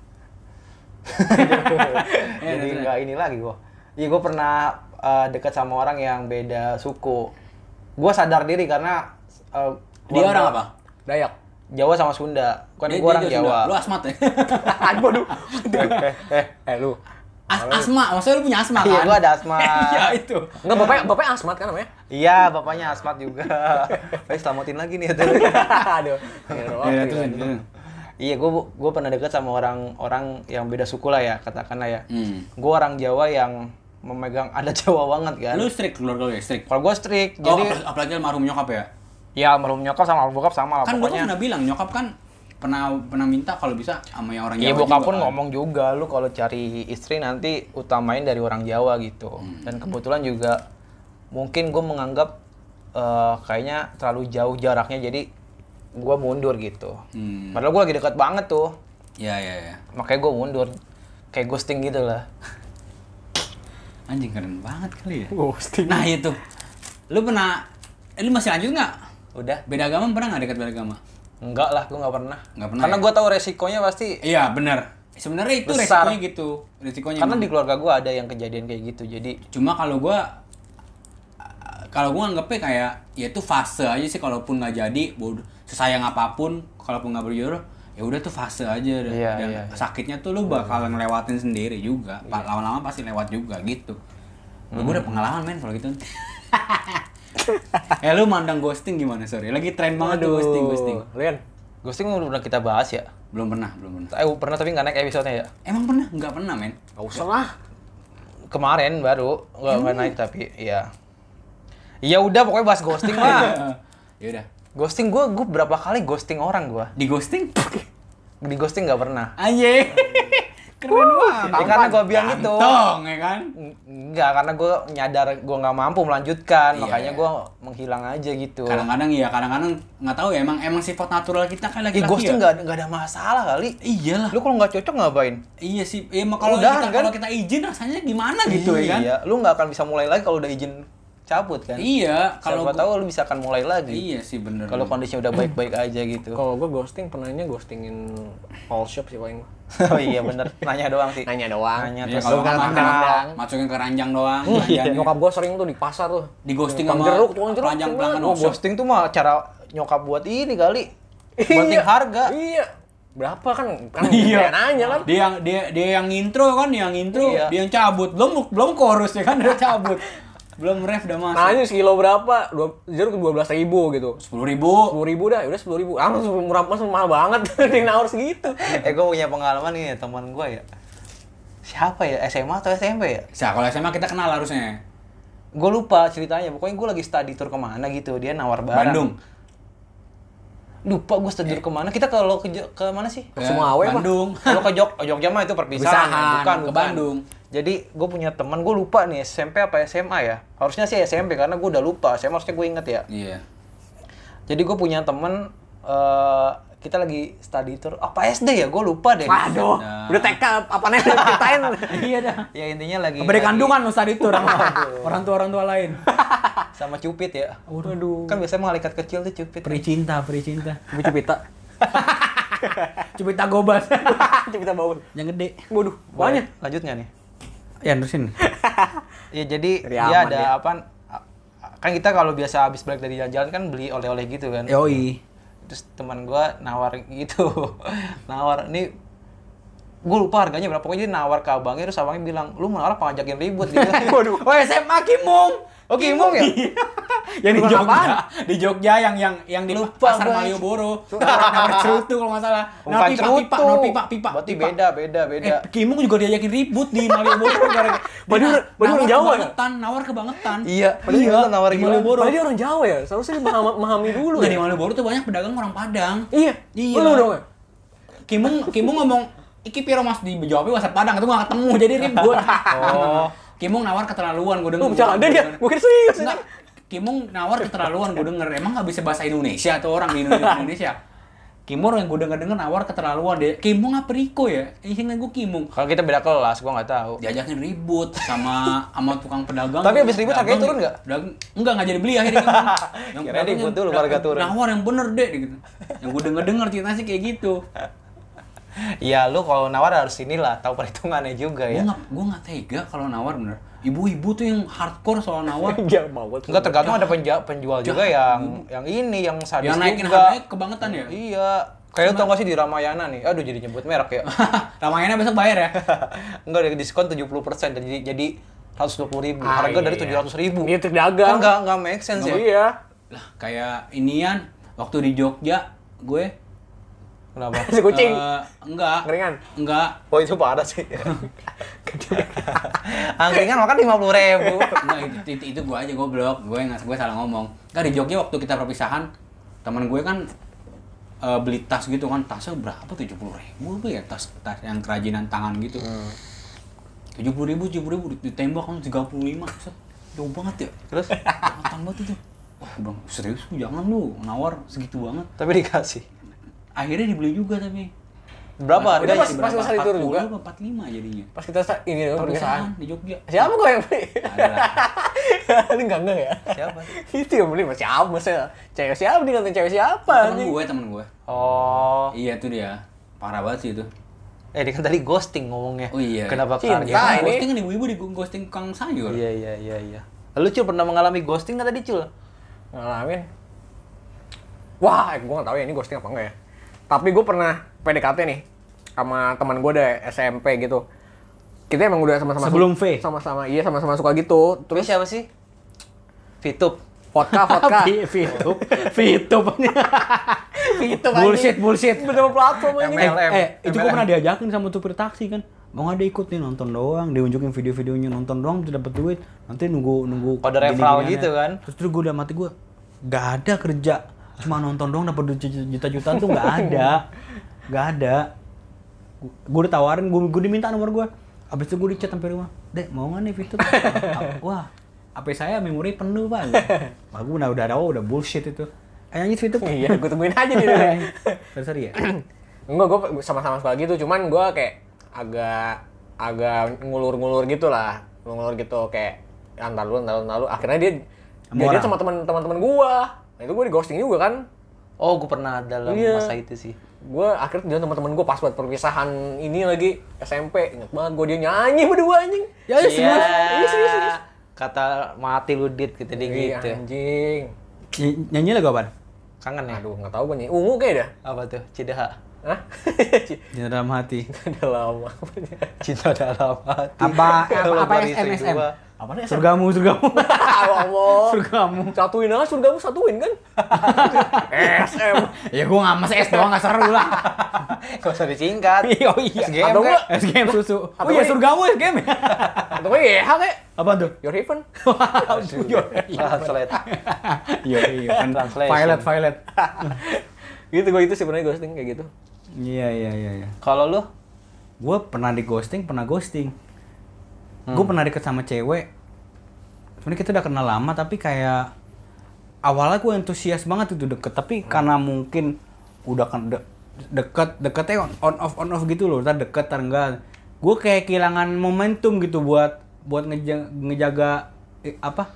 Ya, Jadi nggak ini lagi gua. Iya, gua pernah dekat sama orang yang beda suku. Gua sadar diri karena Dia orang apa? Dayak. Jawa sama Sunda. Kan gua orang Sunda. Jawa. Lu asmat ya? Aduh. Lu. Asma, maksudnya lu punya asma kan? Iya, gua ada asma. Iya itu. Enggak, bapaknya asmat kan namanya? Iya, bapaknya asmat juga. Selamatin lagi nih itu. Aduh. Ya, terus. Iya, gue pernah deket sama orang yang beda suku lah ya, katakanlah ya. Gue orang Jawa yang memegang adat Jawa banget kan. Lu strict keluarga lu ya, strict. Kalau gue strict, Oh, jadi apalagi almarhum nyokap ya? ya almarhum nyokap sama almarhum bokap sama lah Kan gua pokoknya. pernah bilang nyokap kan pernah minta kalau bisa sama yang orang Iya, Jawa bokap juga pun kan. ngomong juga, lu kalau cari istri nanti utamain dari orang Jawa gitu. Dan kebetulan juga mungkin gue menganggap kayaknya terlalu jauh jaraknya, jadi gue mundur gitu. Padahal gue lagi dekat banget tuh. Iya. Makanya gue mundur, kayak ghosting gitu lah. Anjing keren banget kali ya. Ghosting. Nah itu. Lu lu masih lanjut nggak? Udah? Beda agama pernah nggak dekat beda agama? Enggak lah, gue nggak pernah. Nggak pernah Karena ya? gue tahu resikonya pasti. Iya benar. Sebenarnya itu Besar. resikonya gitu. Resikonya Karena emang. di keluarga gue ada yang kejadian kayak gitu, jadi Cuma kalau gua anggapnya kayak ya itu fase aja sih, kalaupun nggak jadi sesayang apapun, kalaupun nggak berjodoh ya udah tuh fase aja dan, Iya, dan iya. sakitnya tuh lu bakal ngelewatin sendiri juga. Lama-lama pasti lewat juga gitu. Gue udah pengalaman men kalau gitu. Lu mandang ghosting gimana? Sorry, lagi tren banget tuh ghosting. Lian. ghosting udah kita bahas ya. Belum pernah. Pernah tapi nggak naik episode-nya ya. Emang pernah? Nggak pernah men. Gak usah lah. Kemarin baru nggak naik tapi ya. Ya udah pokoknya bahas ghosting lah. Ya udah. Ghosting gue berapa kali ghosting orang gue. Di ghosting? Di ghosting nggak pernah. Anjing. Keren banget. Ya, karena gue bilang gitu. Ganteng, ya kan? Enggak, karena gue nyadar gue nggak mampu melanjutkan, Iya, makanya iya. gue menghilang aja gitu. Kadang-kadang nggak tahu ya, emang sifat natural kita kan lagi Ghosting nggak ada masalah kali. Iyalah. Lu kalau nggak cocok ngapain? Iya sih. Emang kalau Udahan, kita kan? kalau kita izin rasanya gimana gitu ya kan? Iya, lu nggak akan bisa mulai lagi kalau udah izin cabut kan. Iya, kalau Siapa tahu lu bisa akan mulai lagi. Iya sih bener. Kalau kondisinya udah baik-baik aja gitu. Kalau gue ghosting, pernahnya ghostingin all shop sih paling. Oh iya bener, nanya doang sih. Nanya doang. Nanya Iya, terus kalau lu nggak kan kadang-kadang. masukin ke ranjang doang. Iya. Nyokap gue sering tuh di pasar tuh. Di ghosting Tukang sama jeruk, tukang jeruk. pelanggan semua. Oh, ghosting tuh mah cara nyokap buat ini kali. Banting harga. Iya. Berapa kan Iya. kayak nanya kan. Dia yang intro kan, yang intro, Iya. dia yang cabut. Belum chorus ya kan udah cabut. Belum ref udah masuk. Nanya sekilo berapa? Jeruk 12.000 gitu. 10.000. 10.000 dah, udah 10.000. Ah, murah, mahal banget. Dia nawar segitu. Gue punya pengalaman nih teman gue ya. Siapa ya? SMA atau SMP ya? Kalau SMA kita kenal harusnya. Gue lupa ceritanya. Pokoknya gue lagi study tour kemana gitu. Dia nawar barang. Bandung. Lupa gue study tour kemana. Kita kalau ke mana sih? Semua awe, Pak. Bandung. Kalau ke Jogja mah itu perpisahan. Perpisahan, Bukan. ke Bandung. Jadi gue punya teman, gue lupa nih SMP apa SMA ya. Harusnya sih SMP karena gue udah lupa. SMA harusnya gue inget ya. Iya. Jadi gue punya temen, kita lagi study tour, apa SD ya? Gue lupa deh. Waduh, Nah. udah TK apa nih ceritain. Iya dah. Ya intinya lagi... Beri kandungan Ustaz itu orang tua lain. Sama cupit ya. Waduh. Kan biasanya malaikat kecil tuh cupit. Peri cinta. Cupita. Cupita gobas. Cupita baul. Yang gede. Waduh, banyak. Lanjut nggak nih? Ya, terusin. Ya jadi Dari dia aman ada dia. apa? Kan kita kalau biasa habis balik dari jalan-jalan kan beli oleh-oleh gitu kan. Yoi. Terus teman gua nawar gitu. Nawar ini gue lupa harganya berapa, pokoknya dia nawar ke abangnya, terus abangnya bilang, lu malah ngajakin ribut gitu. Waduh. Oh, SMA Kimung. Oh, Kimung ya? Yang di Bukan Jogja. apaan? Di Jogja yang di Lupa Pasar gua. Malioboro. Nawar cerutu kalau nggak salah. Bukan cerutu. Pipa. Berarti beda. Kimung juga diajakin ribut di Malioboro gara-gara Padahal orang Jawa ya? Nawar kebangetan. Iya, padahal nawar di gila. Malioboro. Padahal dia orang Jawa ya, seharusnya dia memahami dulu Nggak, ya. di Malioboro tuh banyak pedagang orang Padang. Iya. Iya. Lu dong ya? Kimung ngomong, "Iki piro Mas?" Dijawabnya bahasa Padang, itu nggak ketemu jadi ribut. Oh. Kimung nawar keterlaluan, gue denger. Lu bercanda dia, gue kira serius. Enggak, Kimung nawar keterlaluan, gue denger. Emang nggak bisa bahasa Indonesia atau orang di Indonesia? Kimung yang gue denger nawar keterlaluan deh. Kimung apa Riko ya? Ingat gue Kimung. Kalau kita beda kelas, gua nggak tahu. Diajakin ribut sama tukang pedagang. Tapi abis ribut harganya turun nggak? Enggak jadi beli akhirnya. Yang Kirain ribut dulu, harga turun. Nawar yang bener deh gitu. Yang gue denger ceritanya sih kayak gitu. Iya, lu kalau nawar harus inilah, tahu perhitungannya juga ya. Gue nggak tega kalau nawar bener. Ibu-ibu tuh yang hardcore soal nawar. Dia mau. Enggak, tergantung ada penjual juga yang ini yang sadis Yang naikin juga. harganya kebangetan ya. Iya. Kayak lu tau gak sih di Ramayana nih? Aduh, jadi nyebut merek ya. Ramayana besok bayar ya. Enggak, ada diskon 70% jadi 120.000. Harga dari 700.000. Dia dagang. Kan enggak make sense ya. Iya. Lah kayak inian waktu di Jogja gue Kenapa? Si kucing. Enggak. Keringan. Enggak. Oh, itu parah sih. Angkringan makan 50.000. Enggak, itu gue aja goblok. Gue salah ngomong. Kan di Jogja waktu kita perpisahan, teman gue kan beli tas gitu kan, tasnya berapa? 70.000 apa ya, tas yang kerajinan tangan gitu. 70.000 ditembak kan 35. Set, jauh banget ya. Terus Tambah itu. Wah, bang, serius lu jangan lu nawar segitu banget. tapi dikasih. Akhirnya dibeli juga tapi. Berapa Udah harganya? pas selesai itu juga. 45 jadinya. Pas kita ini dong Perpisahan perpisahan. di Jogja. Siapa gue yang beli? Ada lah. Lu enggak ya? Siapa? Itu yang beli siapa? Maksudnya cewek siapa nih, ngatain cewek siapa? Temen gue. Oh. Iya tuh dia. Parah banget sih itu. Dia kan tadi ghosting ngomongnya. Oh iya. Kenapa Cinta. harga? Nah, ini- Ghosting kan ibu-ibu di ghosting kang sayur. Iya. Lu Cul pernah mengalami ghosting nggak tadi Cul? Ngalamin. Wah, gue nggak tahu ya ini ghosting apa enggak ya. Tapi gue pernah PDKT nih sama teman gue deh SMP gitu. Kita emang udah sama-sama Sebelum V? sama-sama suka gitu. Terus siapa sih? Fitup. Vodka. Fitup. Bullshit. Bener platform ini. MLM. Itu gue pernah diajakin sama supir taksi kan. Mau nggak dia ikut nih nonton doang, dia unjukin video-videonya nonton doang, tuh dapat duit. Nanti nunggu Kode referral gitu kan. Terus gue udah mati gue. Gak ada kerja, cuma nonton doang dapat duit juta-jutaan tuh nggak ada. Gue udah tawarin, gue diminta nomor gue. Abis itu gue di chat sampai rumah. Dek, mau nggak nih Fitup? Wah, HP saya memori penuh Pak. Wah, gue udah bullshit itu. Ayo lanjut Fitup. Iya, gue tungguin aja nih. Sorry ya. Enggak, gue sama-sama suka gitu. Cuman gue kayak agak ngulur-ngulur gitu lah. Ngulur gitu kayak antar lalu. Akhirnya dia sama teman-teman gue. Nah, itu gue di ghosting juga kan. Oh, gue pernah dalam Iya. masa itu sih. Gue akhirnya dia teman-teman gue pas buat perpisahan ini lagi SMP. Ingat banget gue dia nyanyi berdua anjing. Ya serius. Kata mati lu dit gitu dia Iya, gitu. anjing. Nyanyi lagu apaan? Kangen ya? Aduh, nggak tahu gue nyanyi. Ungu kayak dah. Apa tuh? Cidaha. Hah? Cinta dalam hati. Udah lama. Cinta dalam hati. Apa Lebari SM? istri gua. Apa nih? Surgamu. Ngomong. Surgamu. Satuin kan? SM. Ya gua nggak mas S doang nggak seru lah. Gak usah disingkat. Oh iya. SGM Atau kek. SGM susu. Apa Oh iya ini? surgamu SGM ya. Atau gue YH kayak Apa tuh? Your Heaven. Translate. Iya. Translation. Violet. Gitu gue itu sebenarnya ghosting kayak gitu. Iya. Kalau lu? Gue pernah ghosting. Gue pernah deket sama cewek. Sebenarnya kita udah kenal lama tapi kayak awalnya gue antusias banget itu deket, tapi karena mungkin udah kan deketnya on off gitu loh, ntar deket ntar enggak. Gue kayak kehilangan momentum gitu buat ngejaga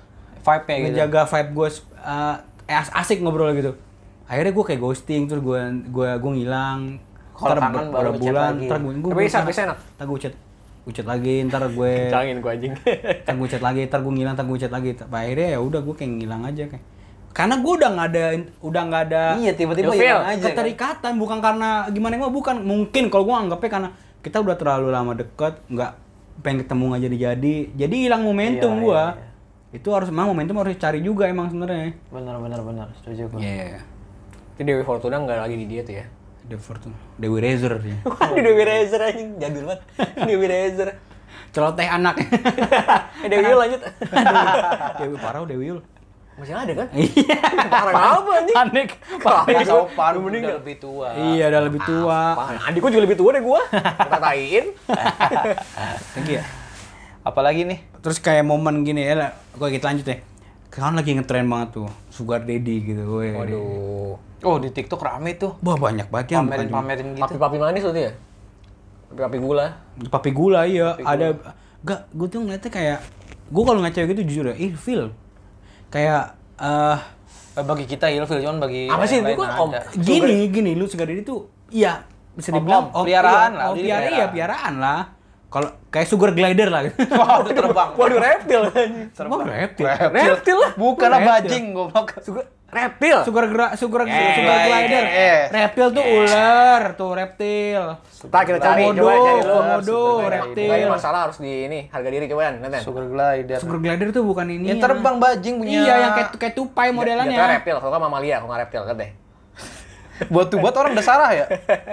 vibe-nya gitu. ngejaga vibe gue asik ngobrol gitu. Akhirnya gue kayak ghosting, terus gue ngilang. Kalau kangen baru berapa chat bulan, lagi. ntar gue Tapi bisa enak. ntar gue chat lagi, ntar gue Cangin gue anjing. ntar gue chat lagi, ntar gue ngilang, ntar gue chat lagi. Tapi akhirnya ya udah gue kayak ngilang aja kayak. Karena gue udah nggak ada Iya, tiba-tiba Ilfil. hilang aja. Kan? keterikatan, bukan karena gimana bukan, mungkin kalau gue anggapnya karena kita udah terlalu lama deket, nggak pengen ketemu nggak jadi hilang momentum Iya, gue. iya, iya. Itu harus momentum harus dicari juga emang sebenarnya. Benar, setuju gue. Iya. Itu Dewi Fortuna nggak lagi di dia tuh ya. Dewi Rezer ya. Waduh Dewi Rezer anjing, jadul banget. Dewi Rezer. Celoteh anak. Dewi Yul lanjut. Dewi Parau, Dewi Yul. Masih ada kan? Iya. Parah apa anjing? Panik. Nggak sopan, Udah meninggal. udah lebih tua. Iya, udah lebih tua. Adik gua juga lebih tua deh gua. Kita taiin. Lagi ya. Apalagi nih? Terus kayak momen gini ya, gue kita lanjut ya. Kan lagi ngetren banget tuh, Sugar Daddy gitu. Weh. Waduh. Oh, di TikTok rame tuh. Wah banyak banget yang bukan cuma- Pamerin gitu. Papi-papi manis tuh dia. Papi-papi gula. Papi gula iya. Ada enggak, gue tuh ngeliatnya kayak gue kalau ngeliat cewek gitu jujur ya, feel kayak Bagi kita ilfil, cuman bagi Apa sih yang itu lain kan, Om? ada. gini lu Sugar Daddy tuh iya bisa dibilang peliharaan lah, iya, peliharaan. iya peliharaan lah. Kalau kayak Sugar Glider lah gitu. Wah, udah terbang. Waduh reptil anjing. Terbang reptil. Reptil lah. Bukan lah Reptil. bajing, goblok. Reptil. Sugar Glider. Reptil tuh ular, tuh reptil. Ntar kita cari, Komodo, coba cari lu. komodo, Sugar reptil. Kayaknya masalah harus di ini, harga diri coba Neten. Sugar glider. Sugar glider tuh bukan ini. Yang terbang bajing punya. Iya, yang kayak tupai Jatuhnya modelannya. reptil, kalau nggak mamalia, kalau nggak reptil, kan deh. Buat orang udah salah ya?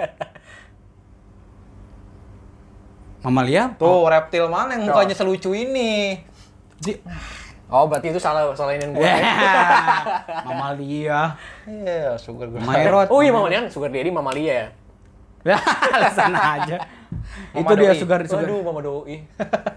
Mamalia? Tuh, reptil mana yang mukanya selucu ini? Oh, berarti itu salahin gue. Mamalia. Iya, sugar glider. Maerot. Oh iya, mamalia, Sugar Daddy mamalia ya. Alasan aja. Mama Itu dia doi. sugar. Aduh, mama doi.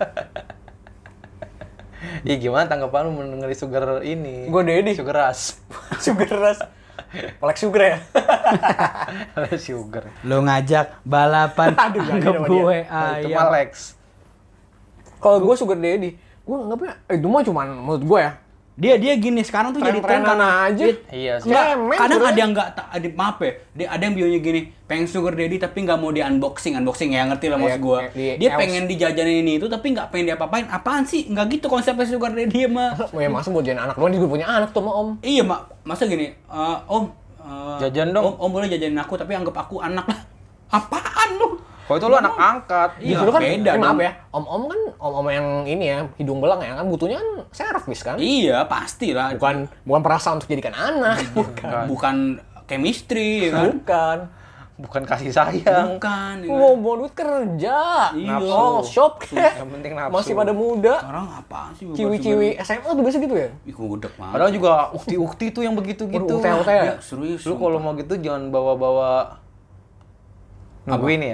Ih, gimana tanggapan lu mendengar sugar ini? Gua Daddy. Sugar rush. Sugar ras. Kolek sugar ya. Sugar. Lo ngajak balapan. Aduh, jangan anggap sama gue Nah, itu ayam. mah Lex. Kalau gue Sugar Daddy, gue nganggapnya itu mah cuman menurut gue ya. Dia gini sekarang tuh jadi tren Tren-trenan karena aja. Iya sih. Nggak, Cemen, kadang bro. ada yang nggak maaf ya, ada yang bionya gini, pengen Sugar Daddy tapi nggak mau di unboxing ya, ngerti lah maksud Iya, gua. di Dia else. pengen dijajanin ini itu tapi nggak pengen diapa-apain. Apaan sih? Nggak gitu konsepnya Sugar Daddy mah. Oh ya masa buat jadi anak doang, dia juga punya anak tuh sama om. Iya masa gini, Om, Jajan dong. Om boleh jajanin aku tapi anggap aku anak lah. Apaan lu? Kalau itu lu anak angkat. Iya, Justru kan, beda maaf dong. ya, om-om kan, om-om yang ini ya, hidung belang ya, kan butuhnya kan servis kan. Iya, pastilah. Bukan perasaan untuk jadikan anak. Bukan chemistry ya kan? Bukan. Bukan kasih sayang. Bukan. Ya kan? Mau duit kerja. Iya. Oh, shop kek. Yang penting nafsu. Masih pada muda. Orang apaan sih? Ciwi-ciwi SMA tuh biasa gitu ya? Ih, gudeg banget. Padahal juga ukti-ukti tuh yang begitu-gitu. Waduh, UT-UT ya? Ya, serius. Lu kalau mau gitu jangan bawa-bawa nungguin ya.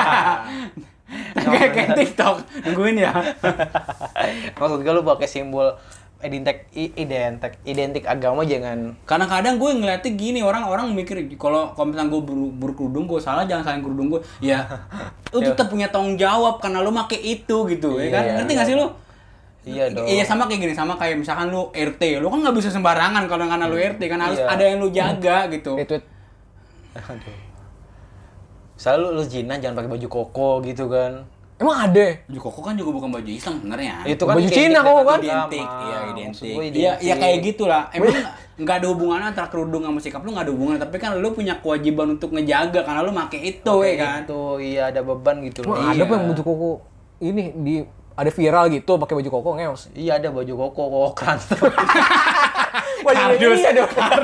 kayak TikTok nungguin ya. Maksud gue lu pakai simbol identik agama jangan. Kadang-kadang gue ngeliatnya gini, orang mikir kalau misalnya gue berkerudung gue salah, jangan salahin kerudung gue. Ya, lu tetap punya tanggung jawab karena lu make itu gitu, ya kan? Iya, Ngerti nggak sih lu? Iya dong. Iya sama kayak gini, sama kayak misalkan lu RT, lu kan nggak bisa sembarangan kalau karena lu RT kan harus Iya. ada yang lu jaga gitu. Retweet. Aduh. Misalnya lu zina jangan pakai baju koko gitu kan. Emang ada? Baju koko kan juga bukan baju Islam sebenarnya. Itu kan Baju identik Cina kok dengan kan? Identik, agama. iya Maksud identik. gue Iya, iya identik. kayak gitulah. Emang nggak ada hubungan antara kerudung sama sikap lu, nggak ada hubungan. Tapi kan lu punya kewajiban untuk ngejaga karena lu make itu ya kan. Itu iya ada beban gitu loh. Emang ada apa yang baju koko ini ada viral gitu pakai baju koko ngeos. Iya ada baju koko kokran. Baju ini ada.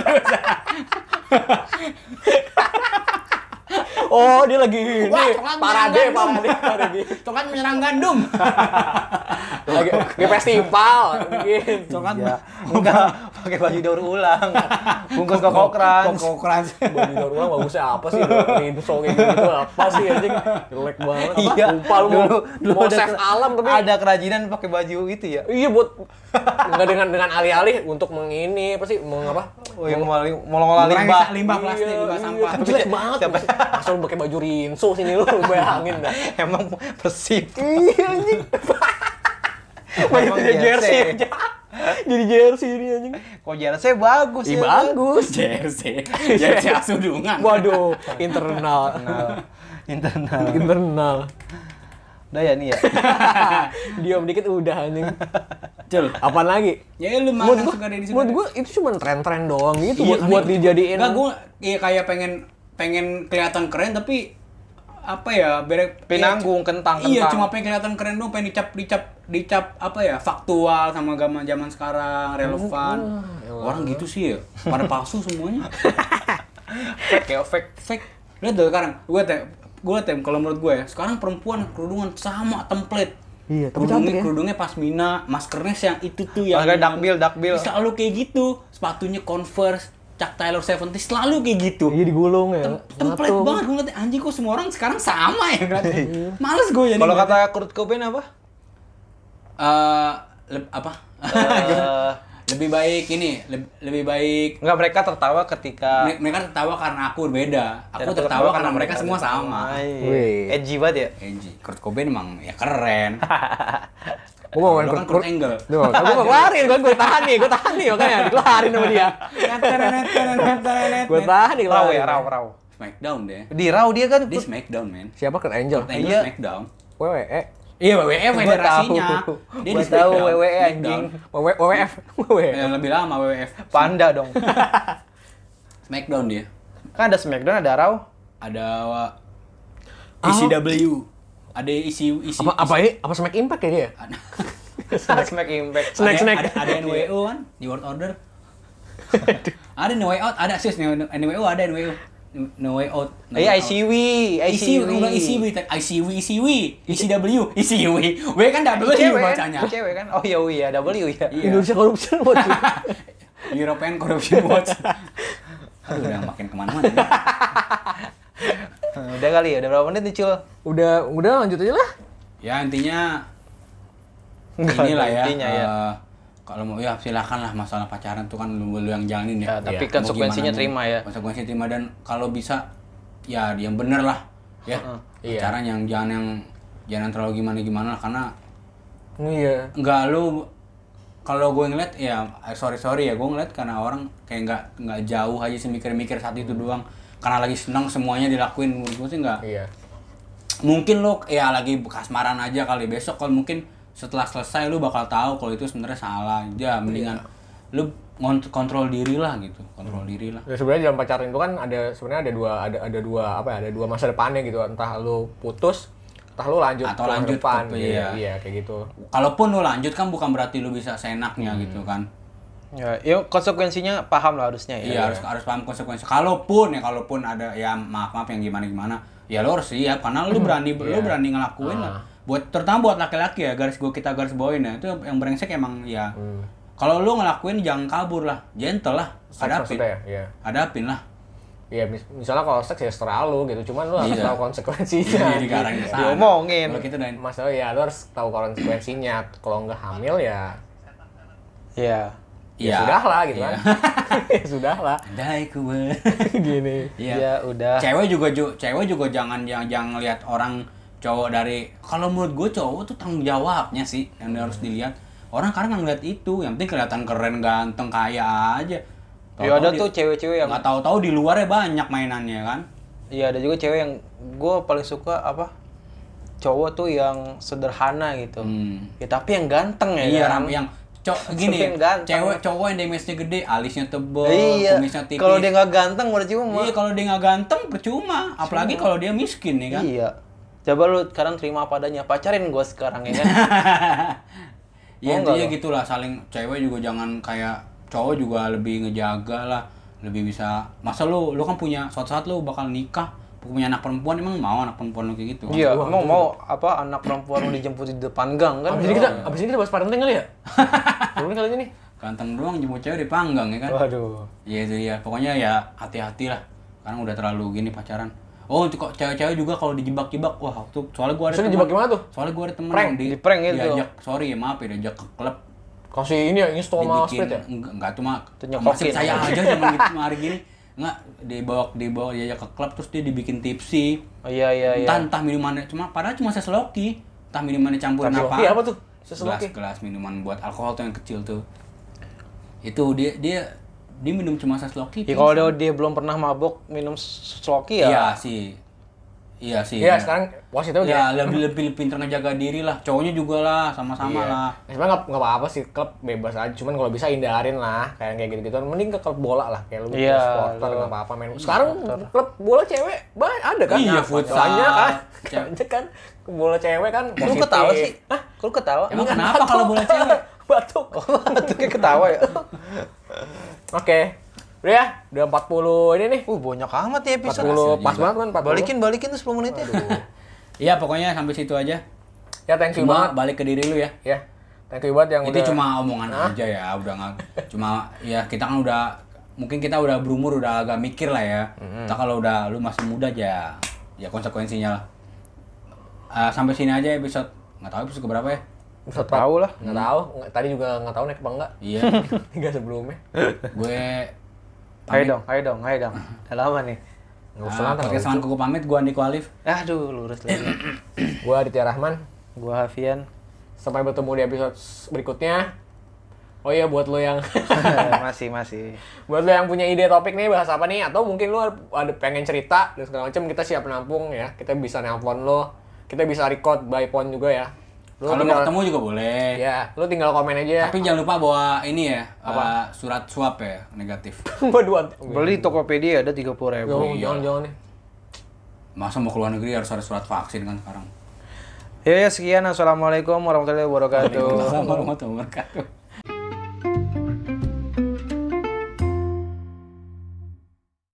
Oh, dia lagi ini. Wah, coklat Parade. Itu kan menyerang gandum. Lagi festival bikin. Coklat Iya. Enggak pakai baju daur ulang. Bungkus koko crunch. Koko crunch. Baju daur ulang bagusnya apa sih? Rinso kayak gitu apa sih anjing? Jelek banget. Iya. Lupa lu mau ada save alam tapi ada kerajinan pakai baju itu ya. iya buat enggak dengan alih-alih untuk mengini apa sih? Mengapa? Oh yang mau ngolah limbah. Limbah plastik, limbah sampah. Jelek banget. Masa lu pakai baju rinso sini lu bayangin dah. Emang Persib. Iya anjing. Baju Emang jersey jersey. aja. Jadi jersey ini anjing. Kok jersey bagus Ih, ya. bagus. Jersey Asudungan. Waduh, internal. Internal. Udah ya nih ya. Diam dikit udah anjing. Cul. Apaan lagi? Ya lu Menurut mana gua, suka dari menurut gua itu cuma tren-tren doang gitu Iya, buat aneh. dijadiin. Enggak, gue iya kayak pengen kelihatan keren tapi apa ya Pinanggung, kentang. Iya, cuma pengen kelihatan keren dong, pengen dicap apa ya, faktual sama zaman sekarang, relevan. Orang gitu sih ya, pada palsu semuanya. Fake ya, fake. Fake. Lihat deh sekarang, gue kalau menurut gue ya, sekarang perempuan kerudungan sama template. Iya, tapi cantik ya. Kerudungnya pasmina, maskernya yang itu tuh yang Makanya dakbil. selalu kayak gitu. Sepatunya Converse, Chuck Taylor 70 selalu kayak gitu. Iya digulung ya. Template Ngatung. banget gue ngeliatnya, anjing kok semua orang sekarang sama ya ngeliatnya. Males gue jadi. Kalau kata Kurt Cobain apa? Apa? Eh, Lebih baik ini, lebih baik Enggak, mereka tertawa ketika mereka tertawa karena aku berbeda. Aku Dan tertawa karena mereka semua sama. Wih. Edgy banget ya. Edgy. Kurt Cobain emang ya keren. Gue mau main Lo kan Kurt Angle. Gue mau keluarin, gue tahan nih makanya dikeluarin sama dia. Gue tahan nih Raw keluarin. ya, raw. Smackdown deh. Di raw dia kan. Dia Smackdown, men. Siapa Kurt Angel? Kurt Angle Iya. Smackdown. WWE. Iya, WWE federasinya. tahu. Dia Gua di tahu Smackdown. WWE Smackdown. anjing. WWF. WWF. Yang lebih lama WWF. Panda dong. Smackdown dia. Kan ada Smackdown, ada raw. Ada ECW. Ada isi Apa ini? Apa Smack Impact ya dia? Smack Impact. Snack. Ada NWO kan di World Order. Ada No Way Out, ada sis NWO ada NWO. No Way Out. Iya, ICW. ECW. W kan W bacanya. Cewek kan? Oh iya, W ya. Iya. Indonesia Corruption Watch. European Corruption Watch. Aduh, udah makin kemana-mana. Udah kali ya, udah berapa menit nih, Cul? Udah lanjut aja lah. Ya intinya Enggak inilah ada ya. intinya ya. Kalau mau ya silakan lah, masalah pacaran tuh kan lu yang jalanin ya. Ya, tapi Mau konsekuensinya gimana, terima ya. Konsekuensinya terima, dan kalau bisa ya yang bener lah ya. Iya. Pacaran yang jangan terlalu gimana lah, karena Iya. enggak lu, kalau gue ngeliat ya sorry ya, gue ngeliat karena orang kayak nggak jauh aja sih, mikir saat itu doang karena lagi senang semuanya dilakuin. Menurut gue sih nggak. Iya. Mungkin lo ya lagi kasmaran aja kali, besok kalau mungkin setelah selesai lu bakal tahu kalau itu sebenarnya salah. Ya mendingan lu kontrol diri lah gitu, kontrol diri lah. Ya sebenarnya dalam pacaran itu kan sebenarnya ada dua masa depannya gitu. Entah lu putus, entah lu lanjut Atau ke lanjut depan. ke- Iya, iya. iya kayak gitu. Kalaupun lu lanjut kan bukan berarti lu bisa seenaknya gitu kan. Ya, yuk konsekuensinya paham lah harusnya ya. Iya, harus paham konsekuensi. Kalaupun ada ya maaf yang gimana, ya lu harus siap karena lu berani ngelakuin lah. Terutama buat laki-laki ya, kita garis bawain ya. Itu yang brengsek emang ya. Kalau lu ngelakuin jangan kabur lah, gentle lah, hadapin. Maksudnya ya, iya. Hadapin lah. Iya, misalnya kalau seks ya seterah lu gitu, cuman lu harus Iya. tahu konsekuensinya. Jadi ke arah ke sana. Diomongin. Kalau kita dan Masalah ya lu harus tahu konsekuensinya. Kalau nggak hamil ya Iya. ya sudah lah gitu Iya. kan. Ya sudah lah. Andai ku Gini. Iya. Ya udah. Cewek juga jangan lihat orang cowok dari, kalau menurut gue cowok tuh tanggung jawabnya sih yang harus dilihat. Orang kadang nggak ngeliat itu, yang penting kelihatan keren, ganteng, kaya aja. Ya ada tuh cewek-cewek yang nggak tahu-tahu di luarnya banyak mainannya kan. Iya, ada juga cewek yang gue paling suka apa? Cowok tuh yang sederhana gitu. Ya tapi yang ganteng ya Iya, kan? yang gini, Yang ganteng. cowok yang damage-nya gede, alisnya tebel, Iya. kumisnya tipis. Kalau dia nggak ganteng percuma. Iya, kalau dia nggak ganteng percuma, apalagi kalau dia miskin ya kan. Iya. Coba lu sekarang terima apa adanya, pacarin gue sekarang ya kan? Ya Oh, enggak intinya loh. gitulah, saling cewek juga jangan kayak cowok juga lebih ngejaga lah, lebih bisa. Masa lu kan punya suatu saat lu bakal nikah, punya anak perempuan, emang mau anak perempuan lu kayak gitu? Iya, emang mau apa anak perempuan lu dijemput di depan gang kan? Abis ini kita bahas parenting kali ya? Belum kali ini nih. Ganteng doang jemput cewek di panggang ya kan? Waduh. Iya itu ya, pokoknya ya hati-hati lah, karena udah terlalu gini pacaran. Oh, kok cewek-cewek juga kalau dijebak-jebak, wah waktu soalnya gua ada Maksudnya dijebak gimana tuh? Soalnya gua ada temen Prank? yang Di-prank gitu. diajak, sorry ya maaf ya, diajak ke klub. Kasih ini ya, install sama Dibikin split ya? enggak cuma Itu nyokokin. masih saya aja zaman gitu hari gini. Enggak, dibawa diajak ke klub terus dia dibikin tipsi. Oh iya. Entah minumannya padahal cuma seseloki. Entah minumannya campuran Seseloki apa. apa tuh? Seseloki? Gelas minuman buat alkohol tuh yang kecil tuh. Itu dia minum cuma Sloki. Ya kalau dia belum pernah mabok minum Sloki ya. Iya sih. Iya, sekarang wasitnya udah. Ya lebih pintar ngejaga diri lah. Cowoknya juga lah, sama-sama lah. Sebenarnya nggak apa-apa sih, klub bebas aja. Cuman kalau bisa hindarin lah, kayak gitu-gitu. Mending ke klub bola lah, kayak lu Iya, supporter nggak apa-apa main. Sekarang klub bola cewek ada kan? Iya, futsal. Banyak kan? Banyak kan? Bola cewek kan Lu positif. ketawa sih? Hah? Lu ketawa? Emang kenapa kalau bola cewek? Batuk. Itu kayak ketawa ya. Oke. Udah ya, udah 40 ini nih. Banyak amat ya episode. 40 pas banget kan 40. Balikin tuh 10 menitnya. Iya, pokoknya sampai situ aja. Ya thank you Cuma banget. balik ke diri lu ya. Ya. Thank you banget yang Itu udah cuma omongan aja ya, udah nggak. Cuma ya kita kan mungkin kita udah berumur, udah agak mikir lah ya. Kita kalau udah lu masih muda aja, ya konsekuensinya lah. Sampai sini aja episode. Nggak tahu episode keberapa ya. Nggak tahu lah. Nggak tahu. Tadi juga nggak tahu naik apa enggak. Iya. 3 sebelumnya. Gue Ayo dong. Udah lama nih. Nggak usah lah. podcast Salam Kuku pamit, gue Andiko Alif. Aduh, lurus lagi. Gua Aditya Rahman. Gua Hafian. Sampai bertemu di episode berikutnya. Oh iya, buat lo yang masih. buat lo yang punya ide topik nih bahas apa nih, atau mungkin lo ada pengen cerita dan segala macam, kita siap menampung ya. Kita bisa nelpon lo, kita bisa record by phone juga ya. Lo Kalau mau ketemu juga boleh. ya, lo tinggal komen aja. Tapi jangan lupa bawa ini ya, surat swab ya, negatif. Berdua. Beli Tokopedia ada 30.000. Jangan nih. Masa mau ke luar negeri harus ada surat vaksin kan sekarang? Ya sekian. Assalamualaikum warahmatullahi wabarakatuh. Waalaikumsalam warahmatullahi wabarakatuh.